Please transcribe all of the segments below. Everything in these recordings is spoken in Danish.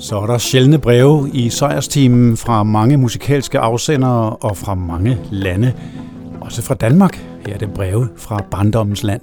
Så er der sjældne breve i sejrsteamen fra mange musikalske afsendere og fra mange lande. Også fra Danmark. Her er det breve fra barndommens land.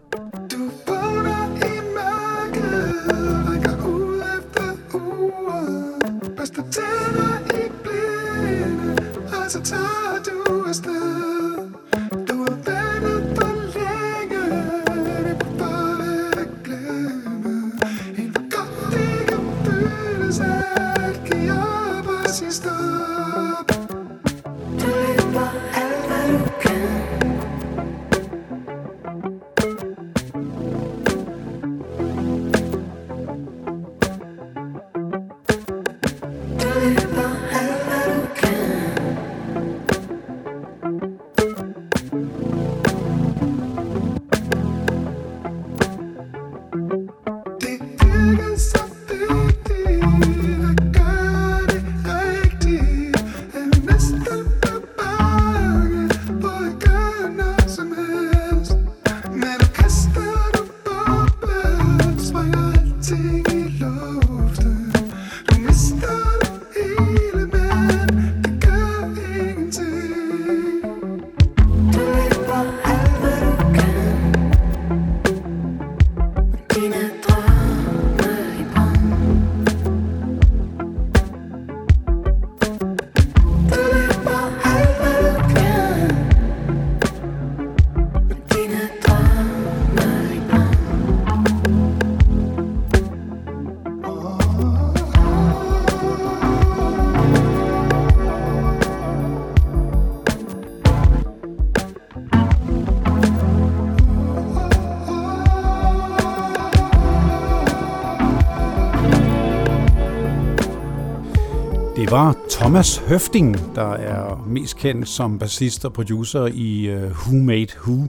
Det var Thomas Høfting, der er mest kendt som bassist og producer i Who Made Who,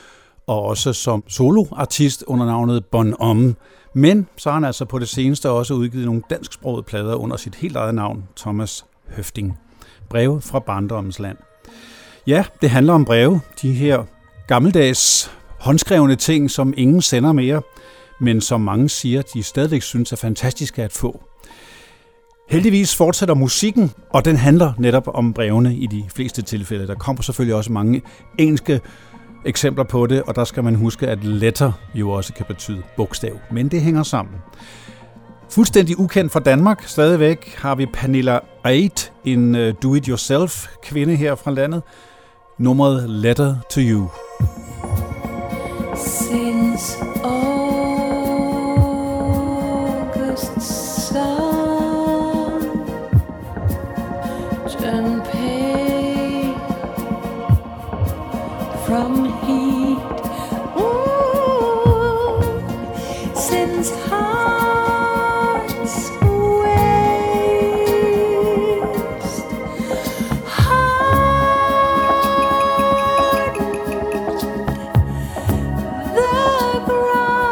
og også som soloartist under navnet Bon Homme. Men så har han altså på det seneste også udgivet nogle dansksprogede plader under sit helt eget navn, Thomas Høfting. Breve fra barndommens land. Ja, det handler om breve. De her gammeldags håndskrevne ting, som ingen sender mere, men som mange siger, de stadigvæk synes er fantastiske at få. Heldigvis fortsætter musikken, og den handler netop om brevene i de fleste tilfælde. Der kommer selvfølgelig også mange engelske eksempler på det, og der skal man huske, at letter jo også kan betyde bogstav. Men det hænger sammen. Fuldstændig ukendt fra Danmark stadigvæk har vi Pernilla Aid, en do-it-yourself-kvinde her fra landet. Nummeret Letter to You. Since August sun turned pale from heat, ooh, since hearts waste, hardened the ground.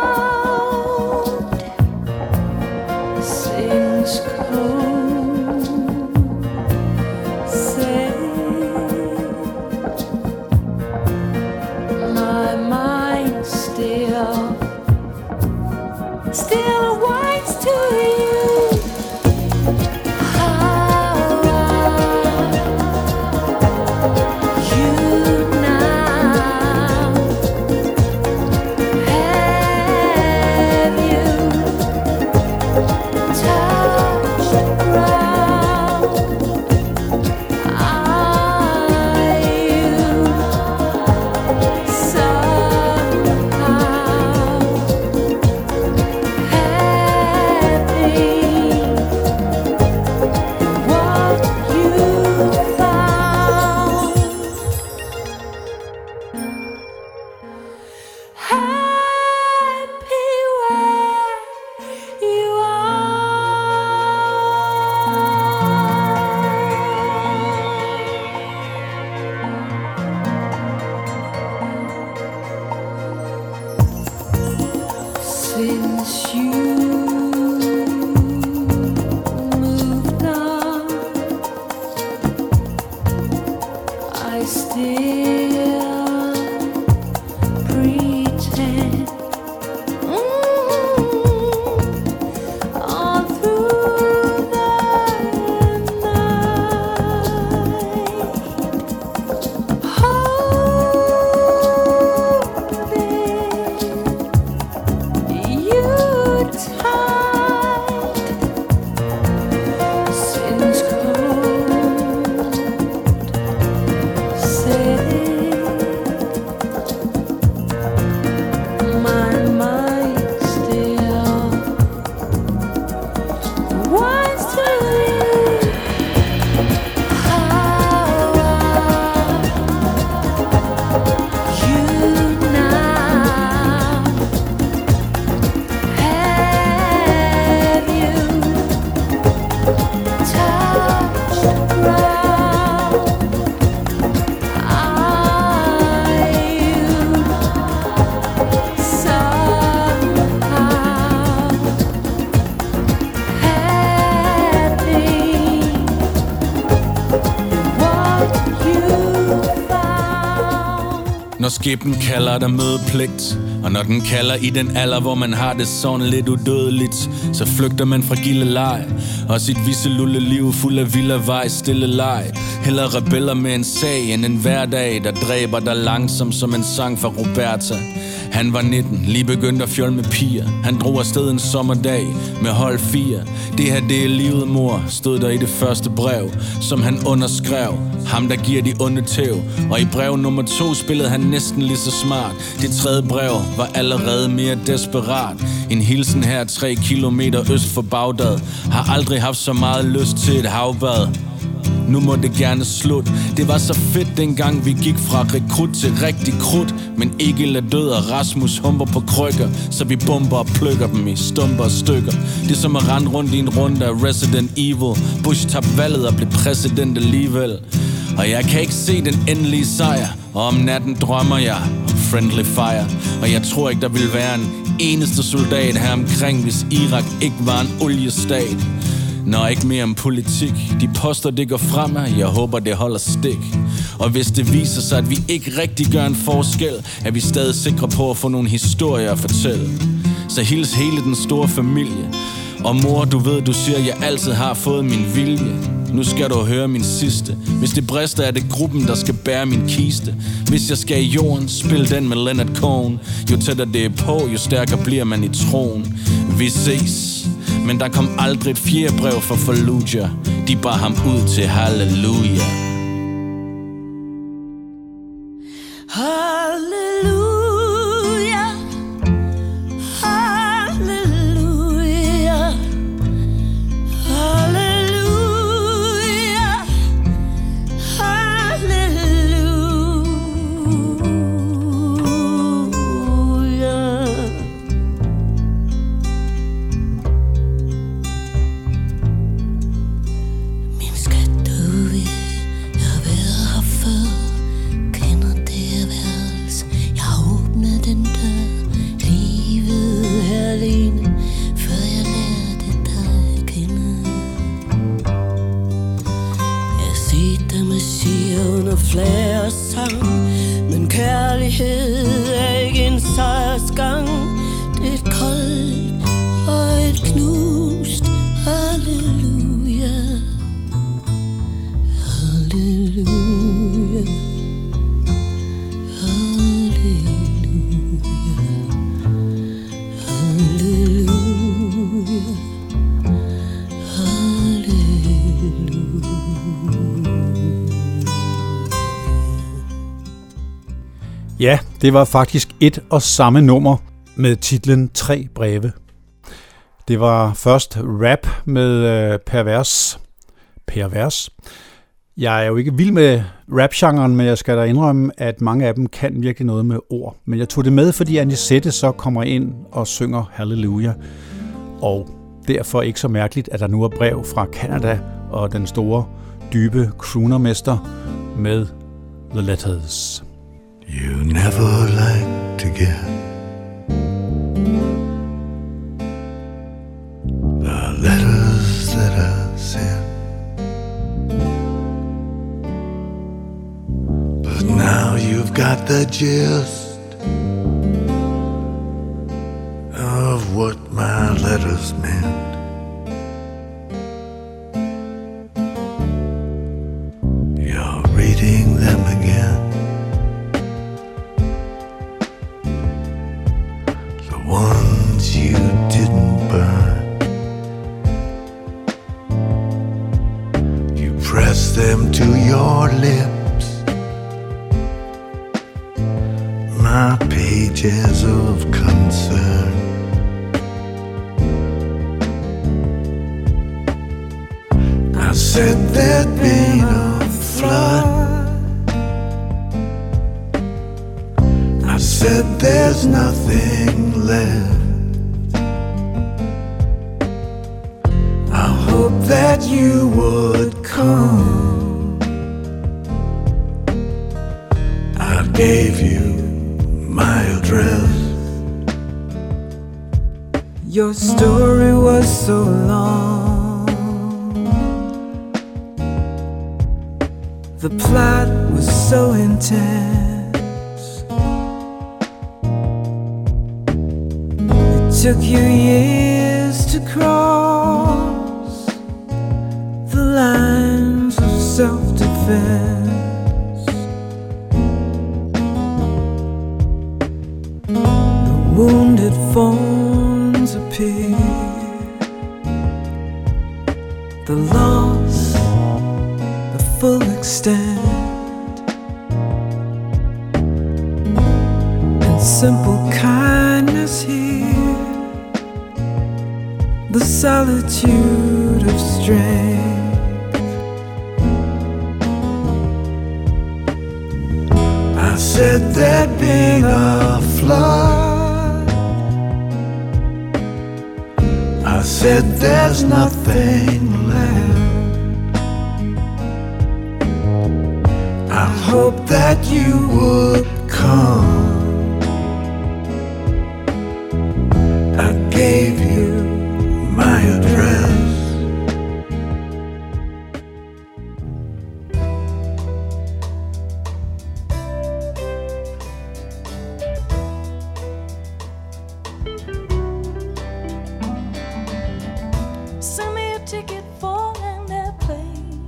når skæbnen kalder der mødepligt. Og når den kalder i den alder, hvor man har det sådan lidt udødeligt, så flygter man fra gilde leg og sit visselulle liv fuld af vild af vej, stille leg. Heller rebeller med en sag end en hverdag, der dræber dig langsomt som en sang fra Roberta. Han var 19, lige begyndt at fjolle med piger. Han drog afsted en sommerdag med hold 4. Det her, det er livet, mor, stod der i det første brev, som han underskrev. Ham, der giver de onde tæv. Og i brev nummer 2 spillede han næsten lige så smart. Det tredje brev var allerede mere desperat. En hilsen her 3 kilometer øst for Bagdad. Har aldrig haft så meget lyst til et havbad. Nu må det gerne slut. Det var så fedt dengang vi gik fra rekrut til rigtig krudt. Men Egil er død og Rasmus humper på krykker, så vi bomber og plukker dem i stumper og stykker. Det er som at rende rundt i en runde af Resident Evil. Bush tabte valget og blev præsident alligevel. Og jeg kan ikke se den endelige sejr, og om natten drømmer jeg om friendly fire. Og jeg tror ikke der ville være en eneste soldat her omkring, hvis Irak ikke var en oliestat. Nå, ikke mere om politik. De poster, det går fremad. Jeg håber, det holder stik. Og hvis det viser sig, at vi ikke rigtig gør en forskel, er vi stadig sikre på at få nogle historier at fortælle. Så hils hele den store familie. Og mor, du ved, du siger, at jeg altid har fået min vilje. Nu skal du høre min sidste. Hvis det brister, er det gruppen, der skal bære min kiste. Hvis jeg skal i jorden, spil den med Leonard Cohen. Jo tættere det er på, jo stærkere bliver man i troen. Vi ses. Men der kom aldrig et fjerde brev fra Fallujah. De bar ham ud til halleluja. Halleluja, halleluja, halleluja, halleluja. Min skat, du ved, jeg har været her før. Kender det værelse, jeg åbnede den dør. Livet her alene, før jeg lærte dig at kende. Jeg set dig med siger under flag og sang, men kærlighed er ikke en sejrsgang. Det er et koldt og et knust halleluja, halleluja, halleluja, halleluja, halleluja. Ja, det var faktisk et og samme nummer med titlen 3 breve. Det var først rap med Pervers. Jeg er jo ikke vild med rap-genren, men jeg skal da indrømme, at mange af dem kan virkelig noget med ord. Men jeg tog det med, fordi Anisette så kommer ind og synger Halleluja. Og derfor ikke så mærkeligt, at der nu er brev fra Canada og den store, dybe croonermester med The Letters. You never like to get the letters that I sent, but now you've got the gist of what my letters meant. You're reading them again, ones you didn't burn. You press them to your lips, my pages of concern. I said there'd been a flood, I said there's nothing left. I hope that you would come. I gave you my address. Your story was so long, the plot was so intense. took you years to cross the lines of self-defense. The wounded fawns appear, the loss, the full extent, and simple kindness here, the solitude of strength. I said there'd been a flood. I said there's nothing left. I hope that you would come. I gave you my address. Send me a ticket for an airplane.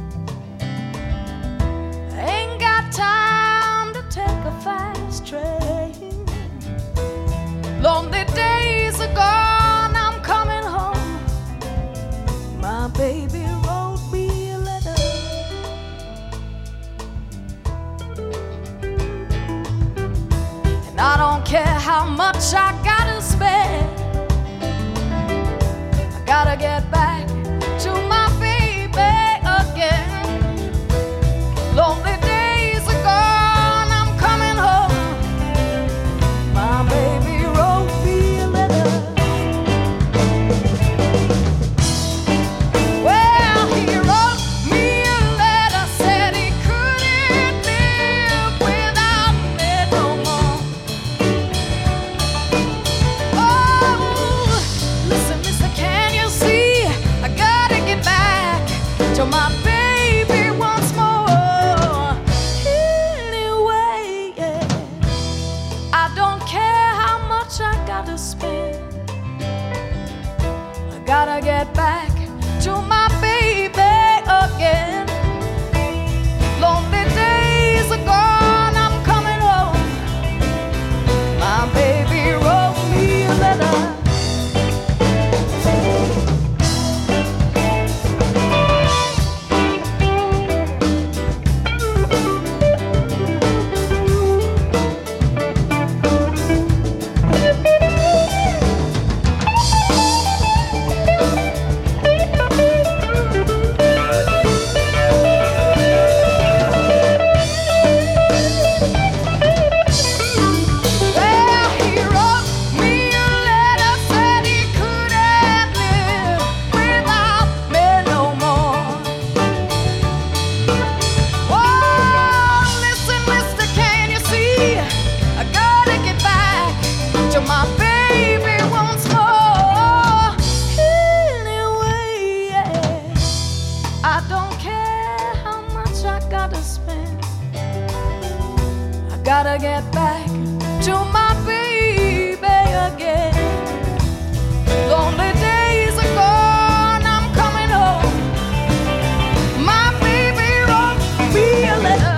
Ain't got time to take a fast train. Lonely days are gone, I'm coming home. My baby wrote me a letter. And I don't care how much I gotta spend, gotta get back to my baby again. Lonely days are gone, I'm coming home. My baby wrote me a letter. Well, he wrote me a letter, said he couldn't live without me no more. Oh, listen, mister, can you see? I gotta get back to my baby once more. Anyway, yeah, I don't care how much I gotta spend. I gotta get back to my baby again. Lonely days are gone, I'm coming home. My baby wrote me a letter. Well, he wrote me a letter, said he couldn't live without me no more. Oh, listen, mister, can you see? I gotta get back to my baby once more. Anyway, yeah, I don't care how much I gotta spend. I gotta get back to my baby again. Lonely days are gone, I'm coming home. My baby wrote me a letter.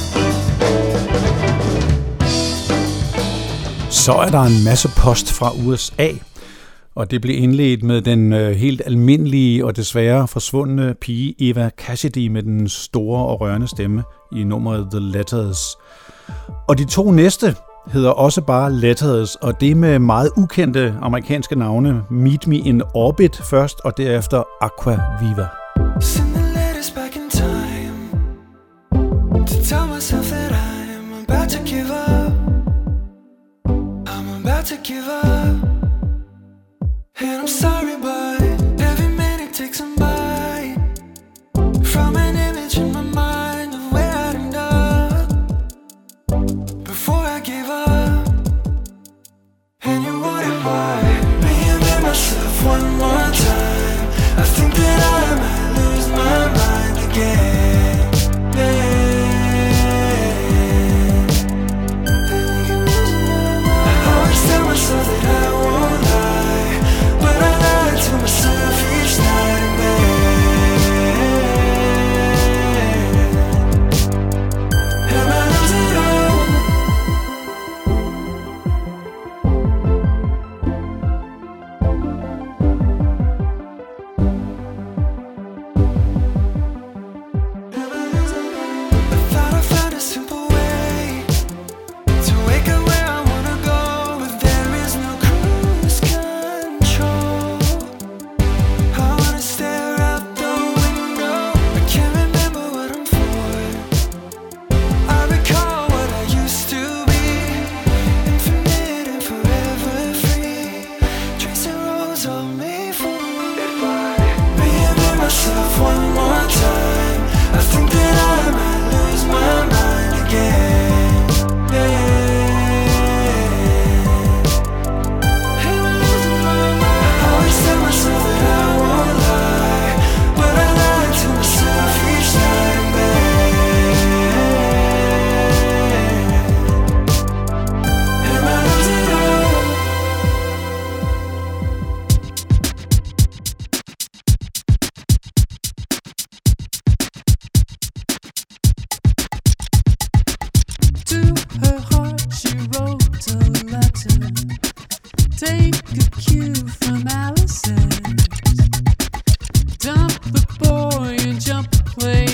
Så er der en masse post fra USA, og det blev indledt med den helt almindelige og desværre forsvundne pige Eva Cassidy med den store og rørende stemme i nummeret The Letters. Og de to næste hedder også bare Letters, og det med meget ukendte amerikanske navne. Meet Me in Orbit først, og derefter Aqua Viva. Send the letters back in time to tell myself that I'm about to give up. I'm about to give up. And I'm sorry, but every minute takes a bite from an image in my mind of where I'd end up before I gave up. And you wouldn't mind reinvent myself one more time. I think that I might lose my mind again. I always tell myself that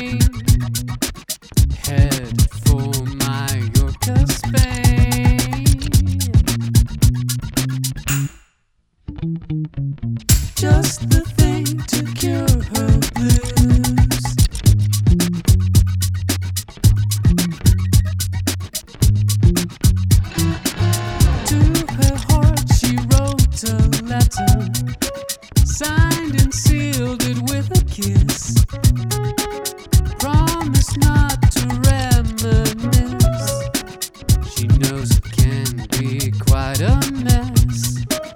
train, head for Mallorca, Spain. Just the thing to cure her blues. To her heart she wrote a letter, signed and sealed it with a kiss. Promise not to reminisce. She knows it can be quite a mess.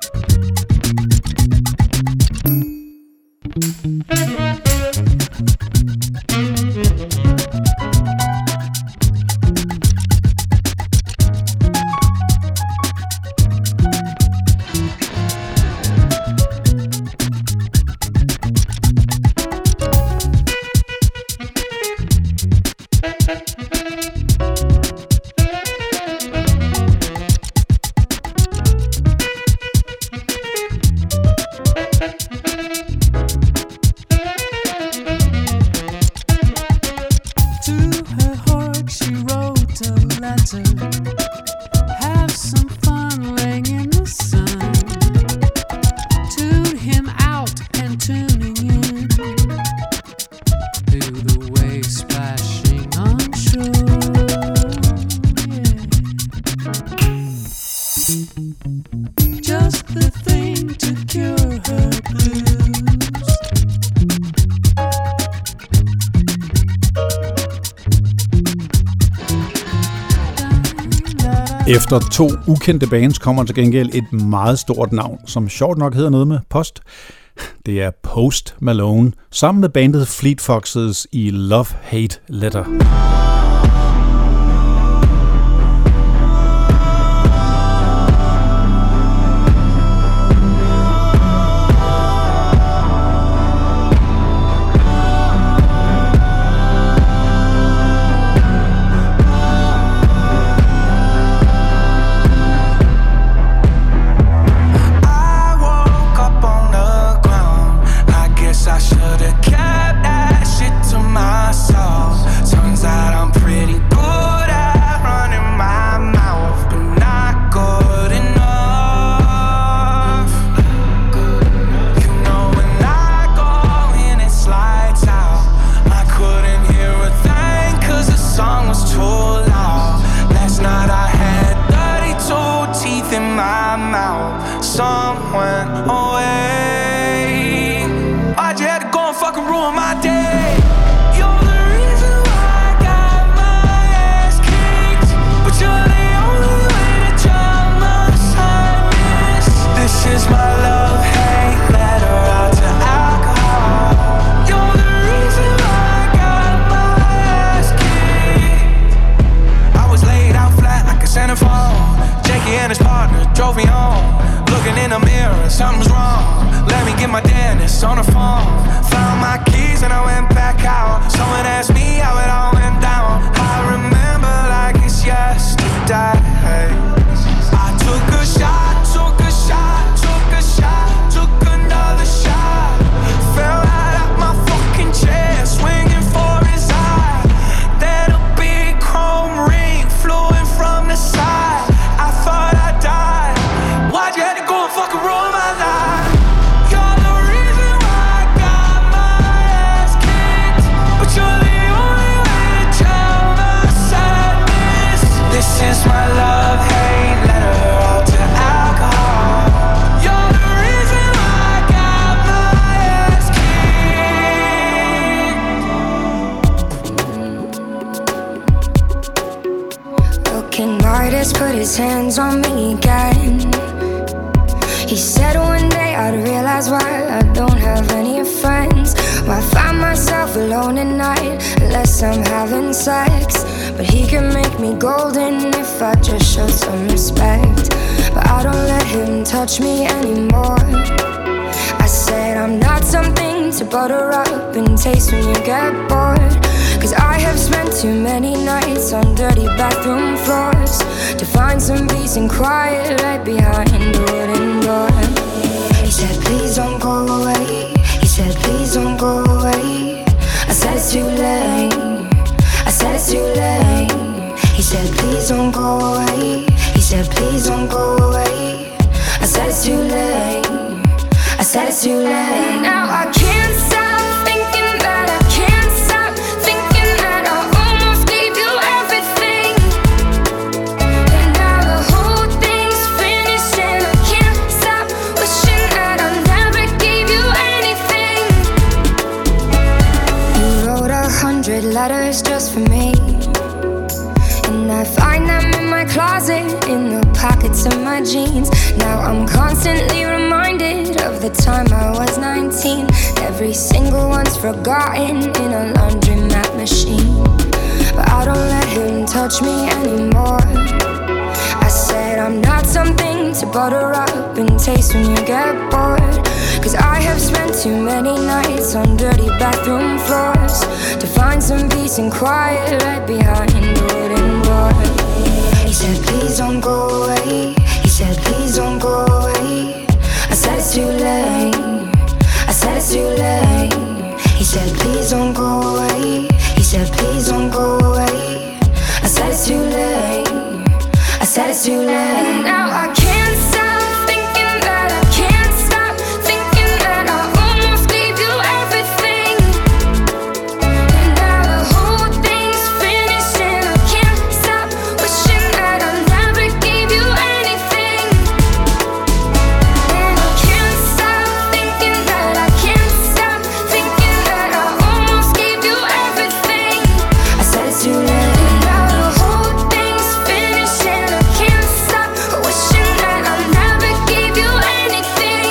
Have some fun laying in the sun. Tune him out and tuning in to the waves splashing on shore. Yeah. Just the thing to cure her blues. Efter 2 ukendte bands kommer til gengæld et meget stort navn, som sjovt nok hedder noget med Post. Det er Post Malone, sammen med bandet Fleet Foxes i Love Hate Letter. Put his hands on me again. He said one day I'd realize why I don't have any friends. Why I find myself alone at night unless I'm having sex. But he can make me golden if I just show some respect. But I don't let him touch me anymore. I said I'm not something to butter up and taste when you get bored. Cause I have spent too many nights on dirty bathroom floors to find some peace and quiet right behind the wooden door. He said please don't go away. He said please don't go away. I said it's too late. said, please don't go away. He said, please don't go away. I said it's too late. I said it's too late. Now I can't stop thinking that I can't stop thinking that I almost gave you everything. And now the whole thing's finished and I can't stop wishing that I never gave you anything. You wrote 100 letters just for me, and I find them in my closet, in the pockets of my jeans. Now I'm constantly reminded of the time I was 19. Every single one's forgotten in a laundromat machine. But I don't let him touch me anymore. I said I'm not something to butter up and taste when you get bored. Cause I have spent too many nights on dirty bathroom floors to find some peace and quiet right behind the wooden door. He said, please don't go away. He said, please don't go away. I said it's too late. I said it's too late. He said, please don't go away. He said, please don't go away. I said it's too late. I said it's too late. Now I can't stop thinking that I can't stop thinking that I almost gave you everything. And now the whole thing's finished and I can't stop wishing that I never gave you anything. And I can't stop thinking that I can't stop thinking that I almost gave you everything. I said it's too late. And now the whole thing's finished and I can't stop wishing that I never gave you anything.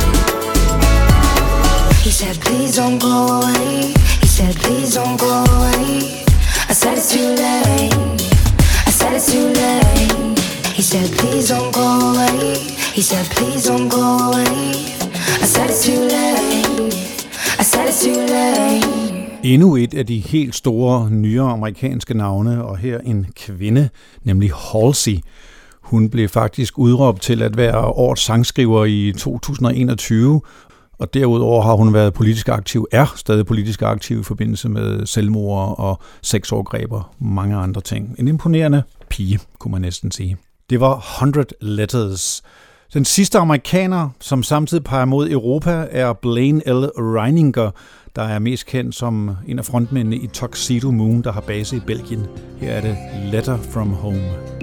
He said, please don't go away. He said, please don't go away. I said it's too late. I said it's too late. He said, please don't go away. He said, please don't go away. I said it's too late. I said it's too late. Endnu et af de helt store, nyere amerikanske navne, og her en kvinde, nemlig Halsey. Hun blev faktisk udråbt til at være årets sangskriver i 2021, og derudover har hun været politisk aktiv, er stadig politisk aktiv i forbindelse med selvmord og sexovergreb og mange andre ting. En imponerende pige, kunne man næsten sige. Det var 100 Letters. Den sidste amerikaner, som samtidig peger mod Europa, er Blaine L. Reininger, der er mest kendt som en af frontmændene i Tuxedo Moon, der har base i Belgien. Her er det Letter from Home.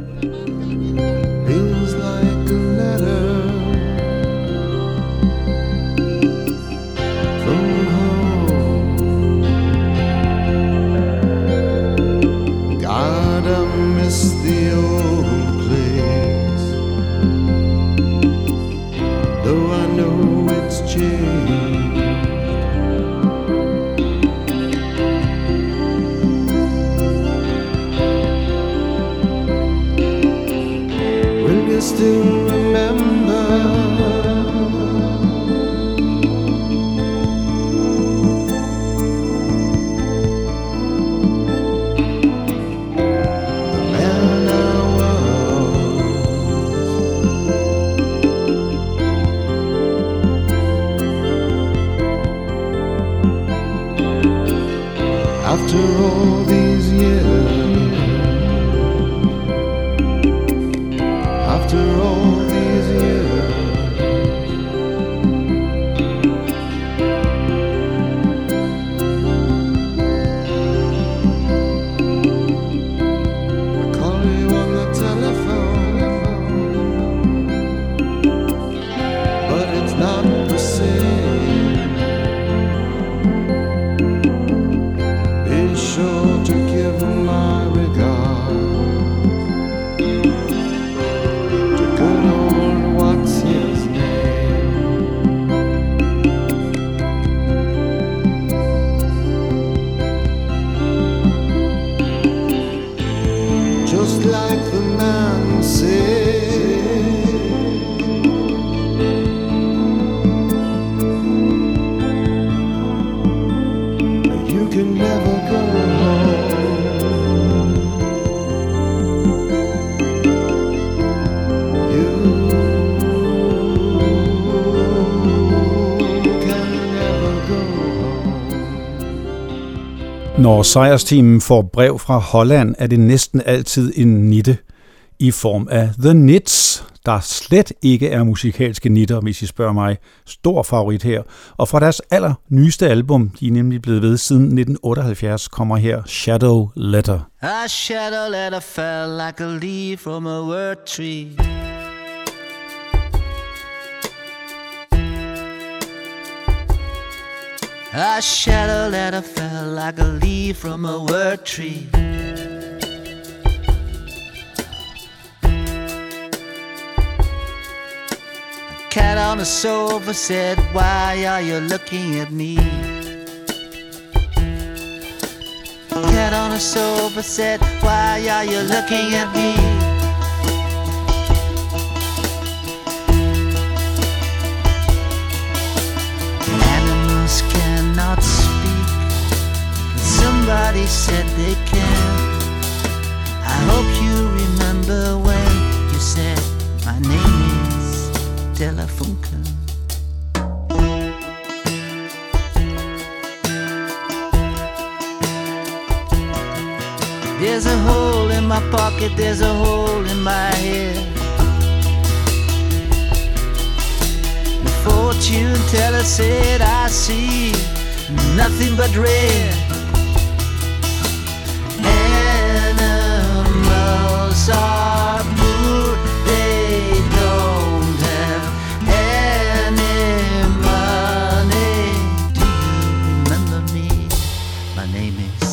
Feels like a letter from home. God, I miss the old place, though I know it's changed. Will you still remember the man I was? After all these years, after all these years, I call you on the telephone, but it's not the same. Be sure to give my regard to good old what's his name. Just like the man said, you can never go home. You can never go home. Når sejrsteamen får brev fra Holland, er det næsten altid en nitte i form af The Nits, der slet ikke er musikalske nitter, hvis I spørger mig. Stor favorit her. Og fra deres allernyeste album, de er nemlig blevet ved siden 1978, kommer her Shadow Letter. A shadow letter fell like a leaf from a word tree. A shadow letter fell like a leaf from a word tree. A cat on the sofa said, "Why are you looking at me?" A cat on the sofa said, "Why are you looking at me?" Animals cannot speak, but somebody said they can. I hope you remember when you said, "My name is Telefunken." There's a hole in my pocket, there's a hole in my head. The fortune teller said I see nothing but red. Animals are poor, they don't have any money. Do you remember me? My name is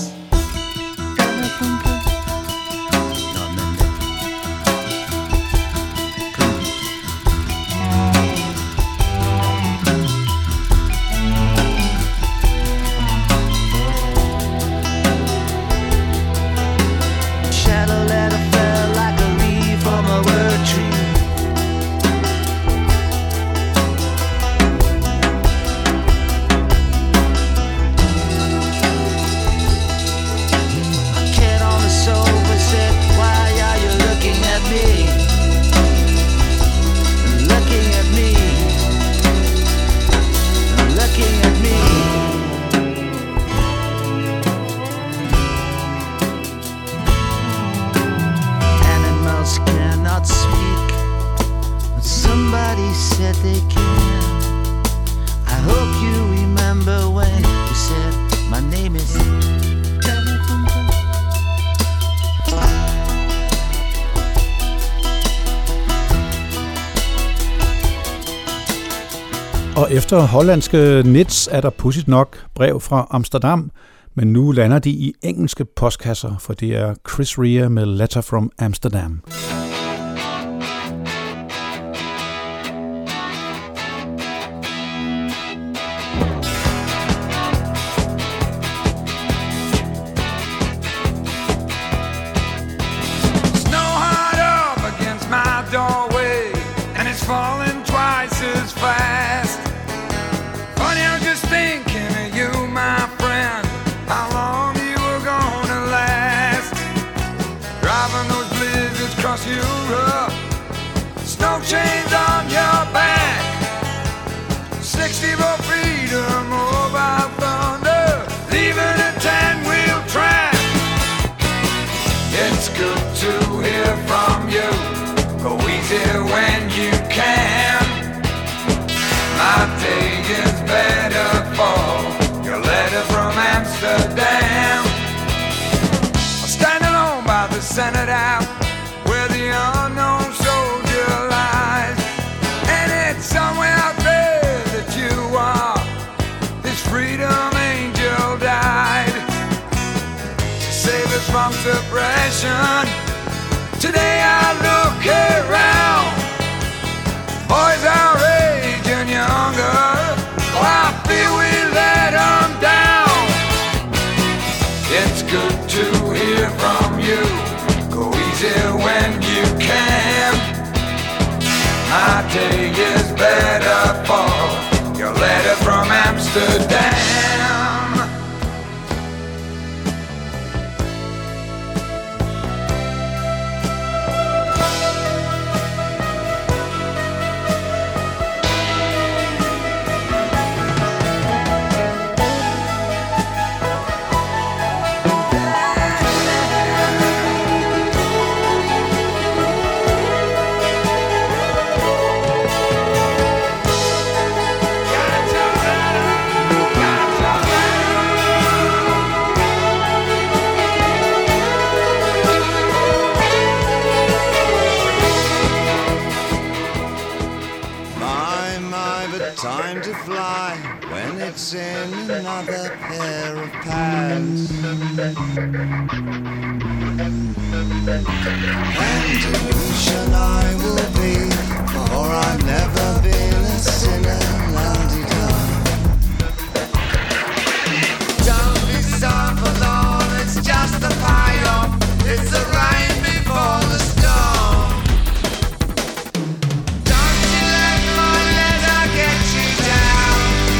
Og efter hollandske Nits er der pudsigt nok brev fra Amsterdam, men nu lander de i engelske postkasser, for det er Chris Rea med Letter from Amsterdam. Chains on your back, 60 for freedom, mobile thunder, leaving a 10-wheel track. It's good to hear from you, go easy when you can. My day is better for your letter from Amsterdam. I stand alone by the Senate House, where the unknown soldier lies. And it's somewhere out there that you are. This freedom angel died to save us from suppression. Today I look around, boys our age and younger. Oh, I feel we let them down. It's good to hear from you, go easy when you can. My day is better for your letter from Amsterdam. in another pair of pants. And illusion I will be, for I've never been a sinner, la-di-da. Don't be so forlorn, it's just a payoff. It's the rain before the storm. Don't you let my letter get you down.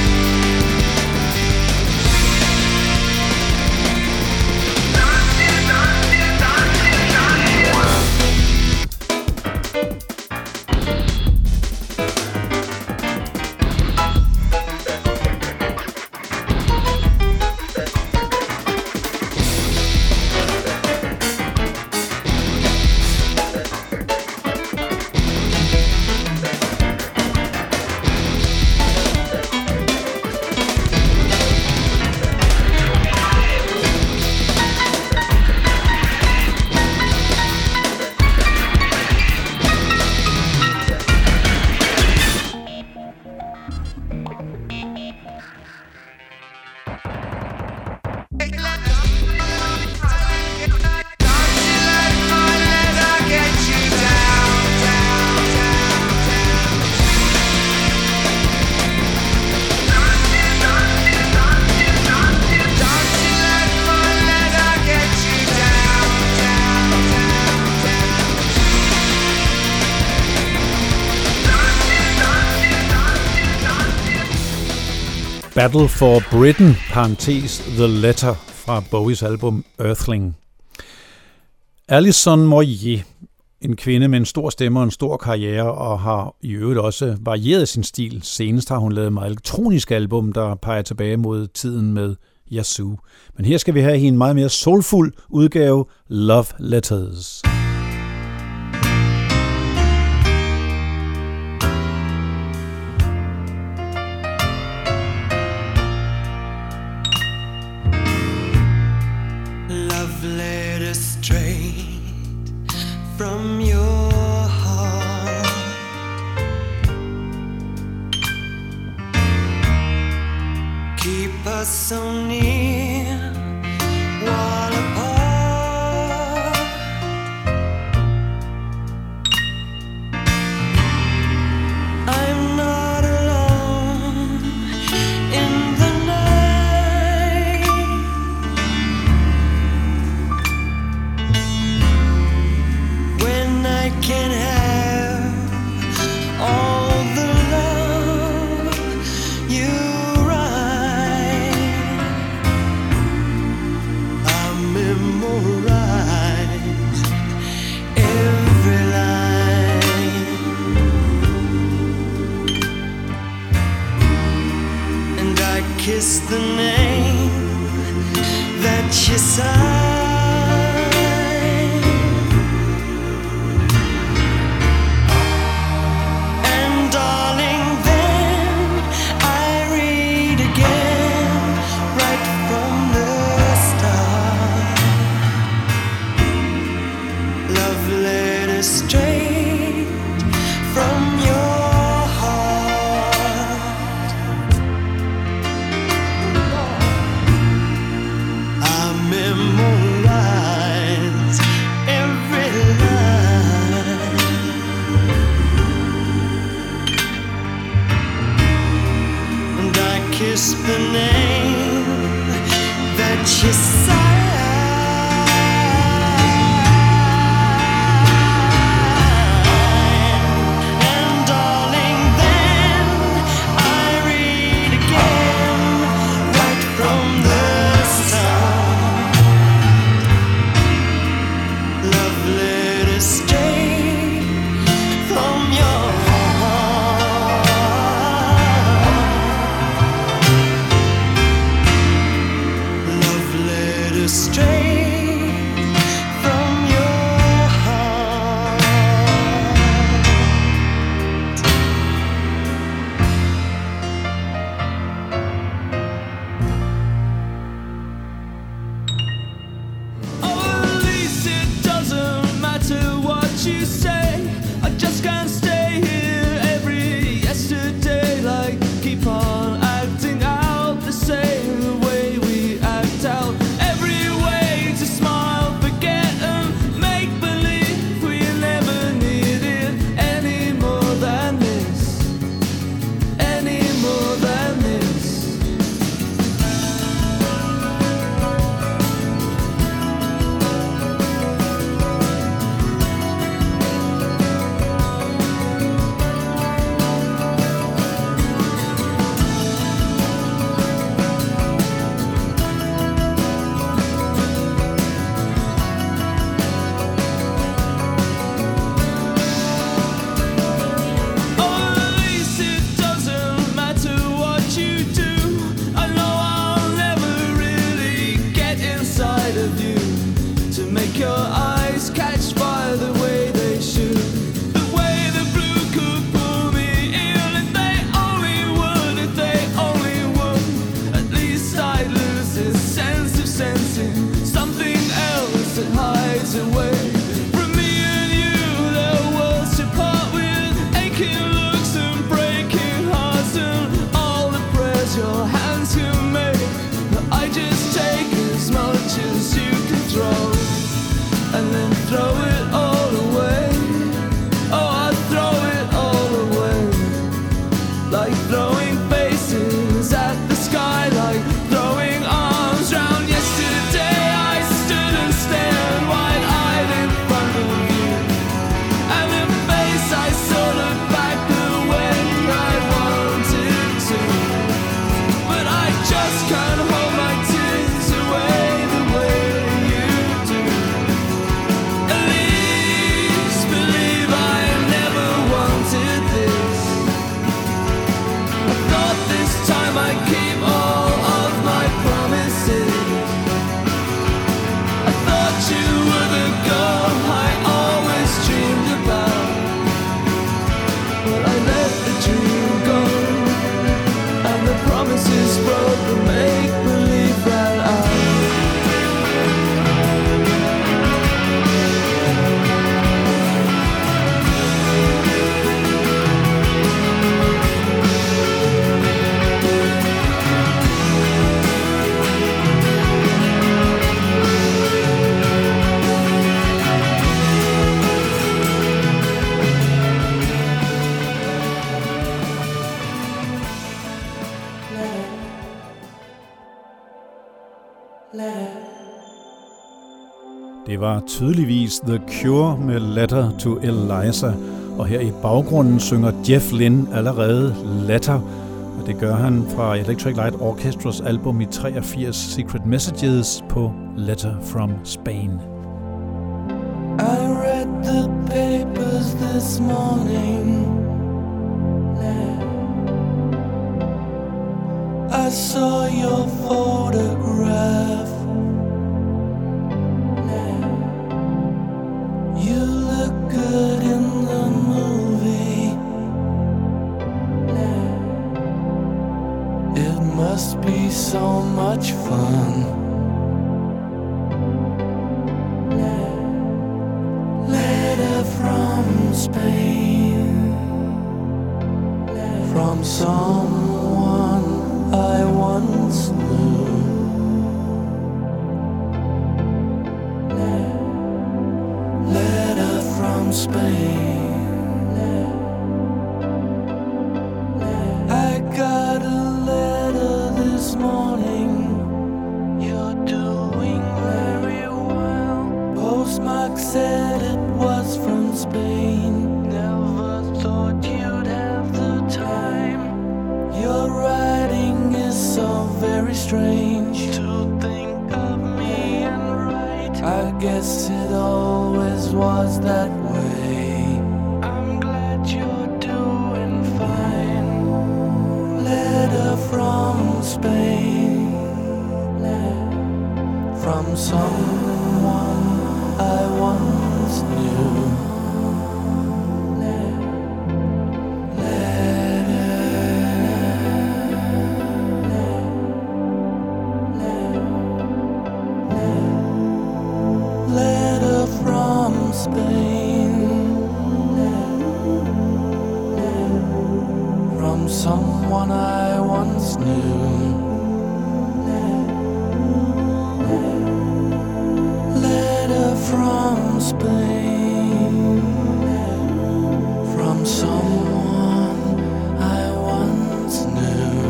Battle for Britain, parentes The Letter fra Bowies album Earthling. Alison Moyet, en kvinde med en stor stemme og en stor karriere, og har i øvrigt også varieret sin stil. Senest har hun lavet et meget elektronisk album, der peger tilbage mod tiden med Yazoo. Men her skal vi have en meget mere soulfuld udgave, Love Letters. From your heart, keep us so near while apart. I'm not alone in the night. I can have all the love you write. I memorize every line, and I kiss the name that you sign. The name that you sign, and darling, then I read again right from the start. your eyes catch fire the way they should. The way the blue could pull me in. If they only would, if they only would. At least I'd lose this sense of sensing something else that hides away from me and you. There are worlds to part with, aching looks and breaking hearts, and all the prayers your hands can make. But I just take as much as you can throw, and then throw it all away. Oh, I throw it all away, like throwing faces at the sky, like throwing arms round yesterday. I stood and stared wide-eyed in front of you, and the face I saw looked back the way I wanted to. But I just can't hold my tears away the way you do. At least believe I never wanted this. I thought this time I'd keep all of my promises. I thought you were the girl I always dreamed about. But I let the dream go, and the promises broke, the make-believe ran out. Det var tydeligvis The Cure med Letter to Eliza, og her i baggrunden synger Jeff Lynne allerede Letter, og det gør han fra Electric Light Orchestras album i 83, Secret Messages, på Letter from Spain. I read the papers this morning. I saw your photograph. You look good in the movie. It must be so much fun. Letter from Spain, from someone I once knew. Letter from Spain. I got a letter this morning. You're doing very well. Postmark said it was from Spain. Never thought you'd have the time. Your writing is so very strange. To think of me and write, I guess it always was that way. I'm glad you're doing fine. Letter from Spain, from someone I once knew. Letter from Spain, from someone I once knew. Letter from Spain, from someone I once knew.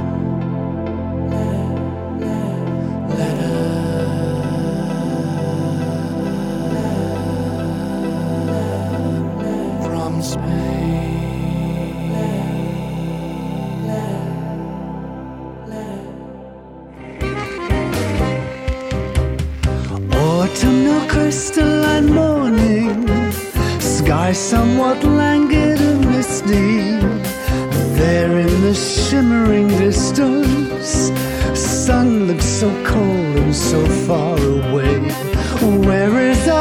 From Spain. Autumnal crystalline morning, sky somewhat languid and misty. There in the shimmering distance, sun looks so cold and so far away. Where is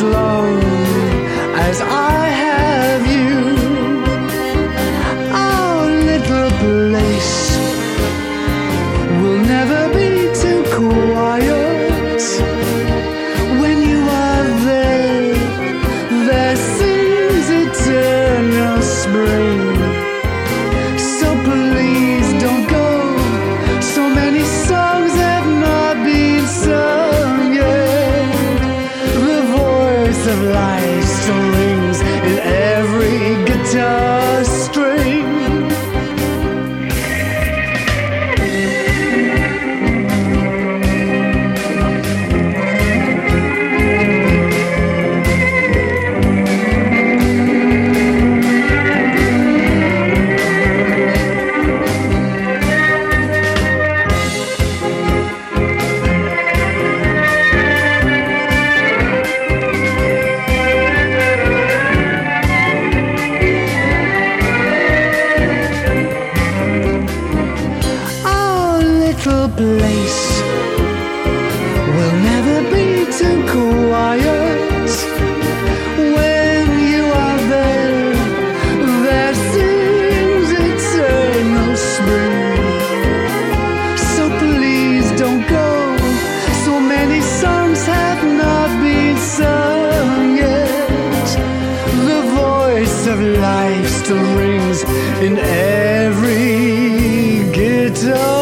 long as I have you. Our little place will never be too quiet. When you are there, there seems eternal spring. So please don't go. So many songs have not been sung yet. The voice of life still rings in every guitar string. Place will never be too quiet. When you are there, there seems eternal spring. So please don't go. So many songs have not been sung yet. The voice of life still rings in every guitar.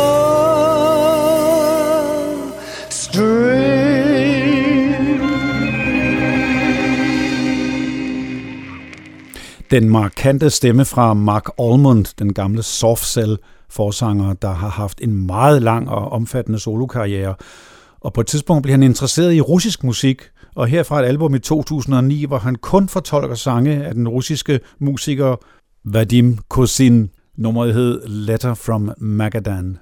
Den markante stemme fra Mark Almond, den gamle Soft Cell-forsanger, der har haft en meget lang og omfattende solokarriere. Og på et tidspunkt blev han interesseret i russisk musik, og herfra et album i 2009, hvor han kun fortolker sange af den russiske musiker Vadim Kosin. Nummeret hed Letter from Magadan.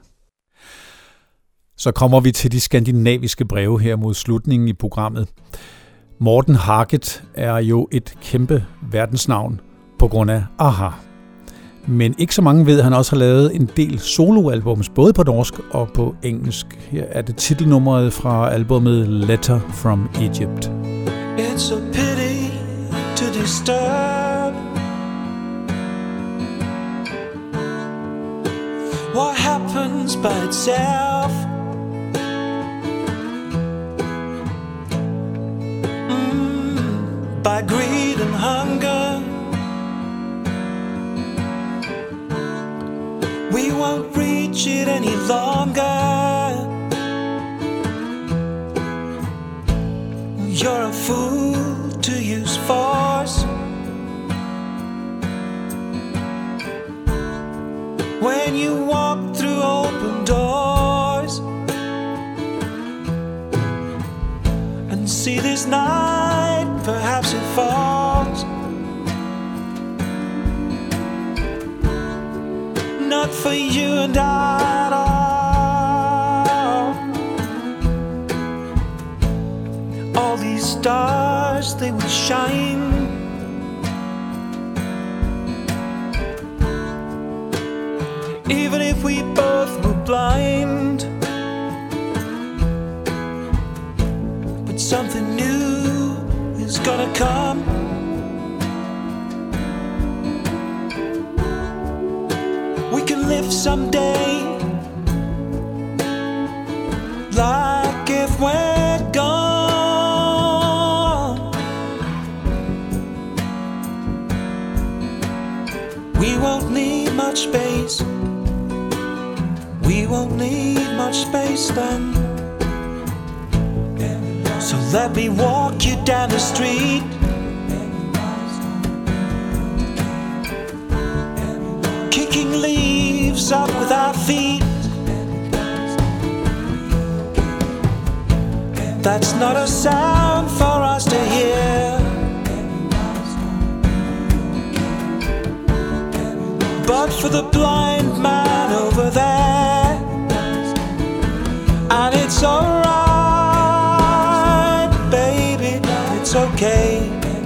Så kommer vi til de skandinaviske breve her mod slutningen i programmet. Morten Harket er jo et kæmpe verdensnavn på grund af Aha. Men ikke så mange ved, at han også har lavet en del soloalbums, både på norsk og på engelsk. Her er det titelnummeret fra albumet Letter from Egypt. It's a pity to disturb what happens by itself. By greed and hunger, we won't reach it any longer. You're a fool to use force when you walk through open doors and see this night. Perhaps it falls, not for you and I at all. All these stars, they will shine, even if we both were blind. But something new is gonna come. We can live someday like if we're gone. We won't need much space. We won't need much space then. So let me walk you down the street. Kicking leaves up with our feet. That's not a sound for us to hear, but for the blind man over there. And it's alright, baby, it's okay.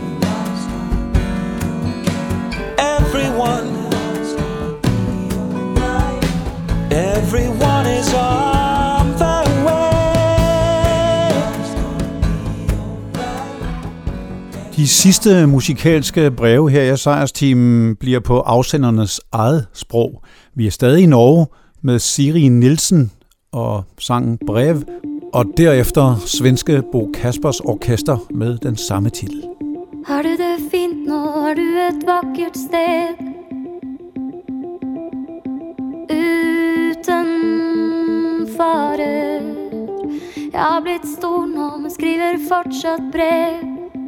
Everyone is on their way. De sidste musikalske breve her i Sejrsteamen bliver på afsendernes eget sprog. Vi er stadig i Norge med Siri Nielsen og sangen Brev, og derefter svenske Bo Kaspers Orkester med den samme titel. Har du det fint nå, har du et vakkert sted uten farer. Jeg har blitt stor nå, men skriver fortsatt brev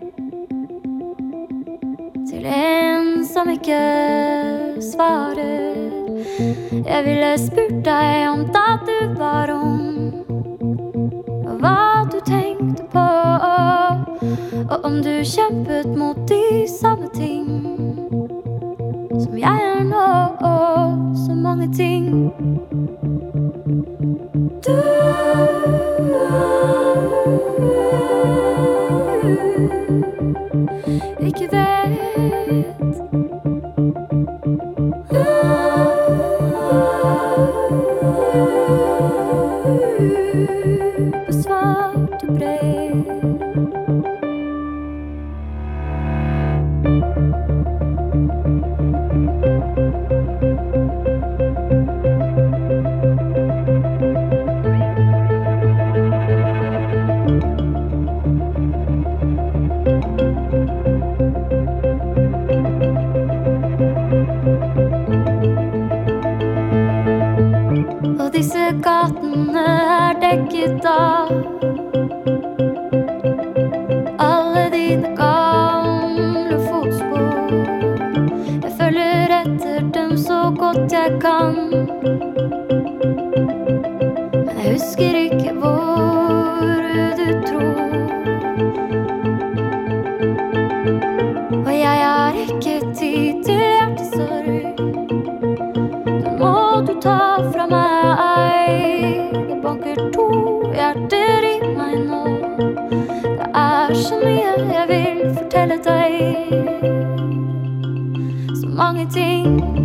til en som ikke svarer. Jeg ville spurt deg om da du var ung, og hva du tenkte på, og om du kjempet mot de samme ting som jeg er nå, og så mange ting du ikke vet. Besvarte brev. Og disse gatene er dekket av alle dine gamle fotspor. Jeg følger etter dem så godt jeg kan, men jeg husker ikke hvor du tror. Og jeg har ikke tid til hjertesorg, den må du ta fra meg. Det banker 2 hjerter i meg nå. Det er så mye jeg vil fortelle deg, så mange ting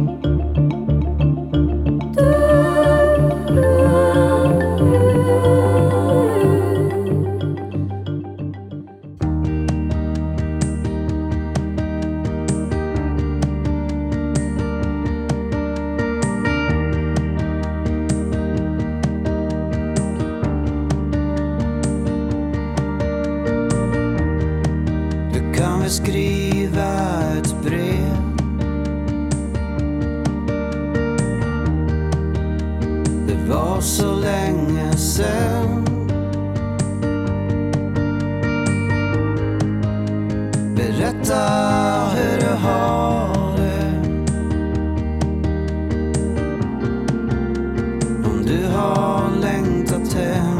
skriva et brev. Det var så lenge sen. Berätta hur du har det, om du har längtat hem.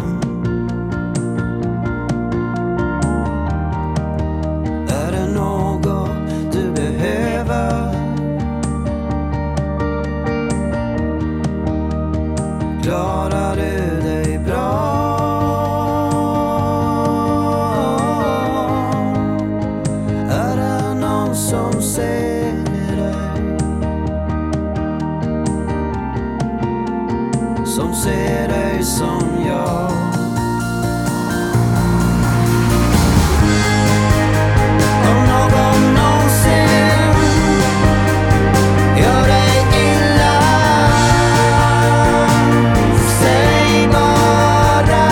Klarar du dig bra? Är det någon som ser dig? Som ser dig som jag? Om någon någonsin gör dig illa, säg bara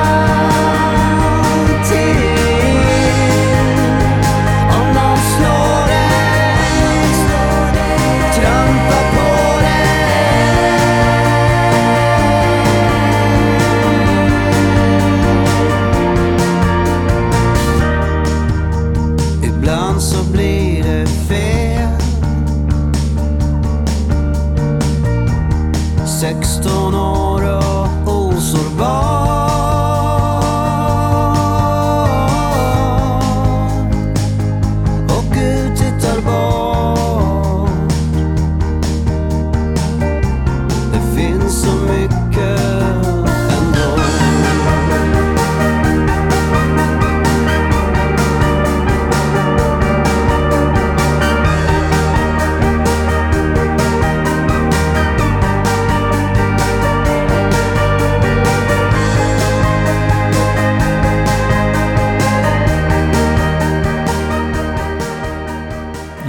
till. Om någon slår dig, trampar på dig,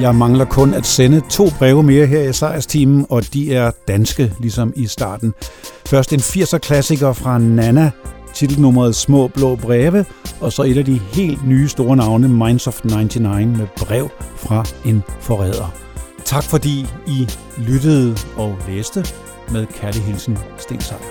Jeg mangler kun at sende 2 breve mere her i Sejrstimen, og de er danske, ligesom i starten. Først en 80'er-klassiker fra Nana, titelnummeret Små Blå Breve, og så et af de helt nye store navne, Minds of 99, med brev fra en forræder. Tak fordi I lyttede og læste. Med kærlig hilsen, Sten Sejer.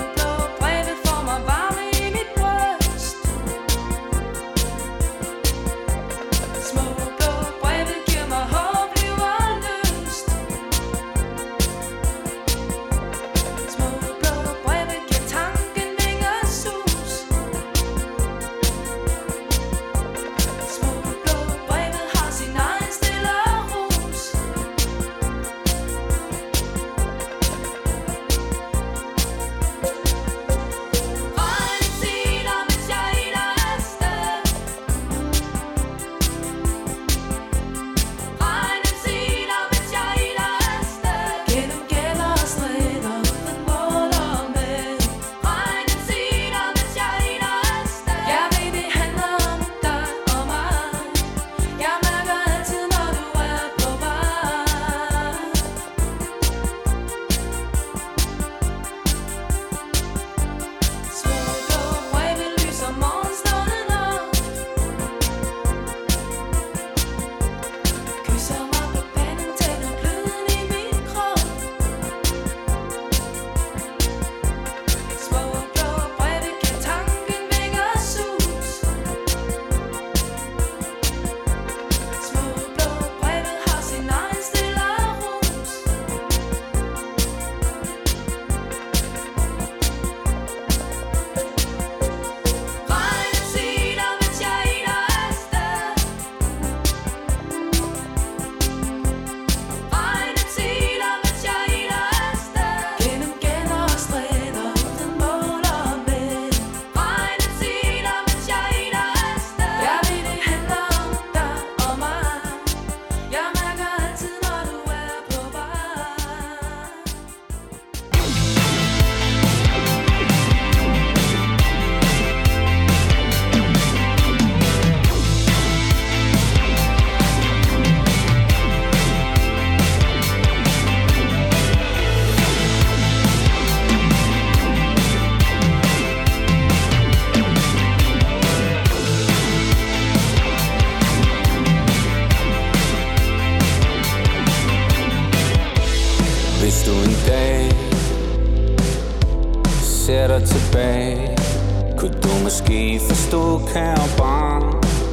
Tilbage kunne du måske forstå, kære barn,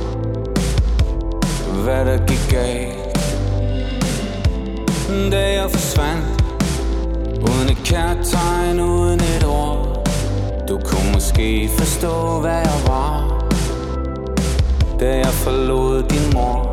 hvad der gik galt, da jeg forsvandt uden et kærtegn, uden et ord. Du kunne måske forstå, hvad jeg var, da jeg forlod din mor.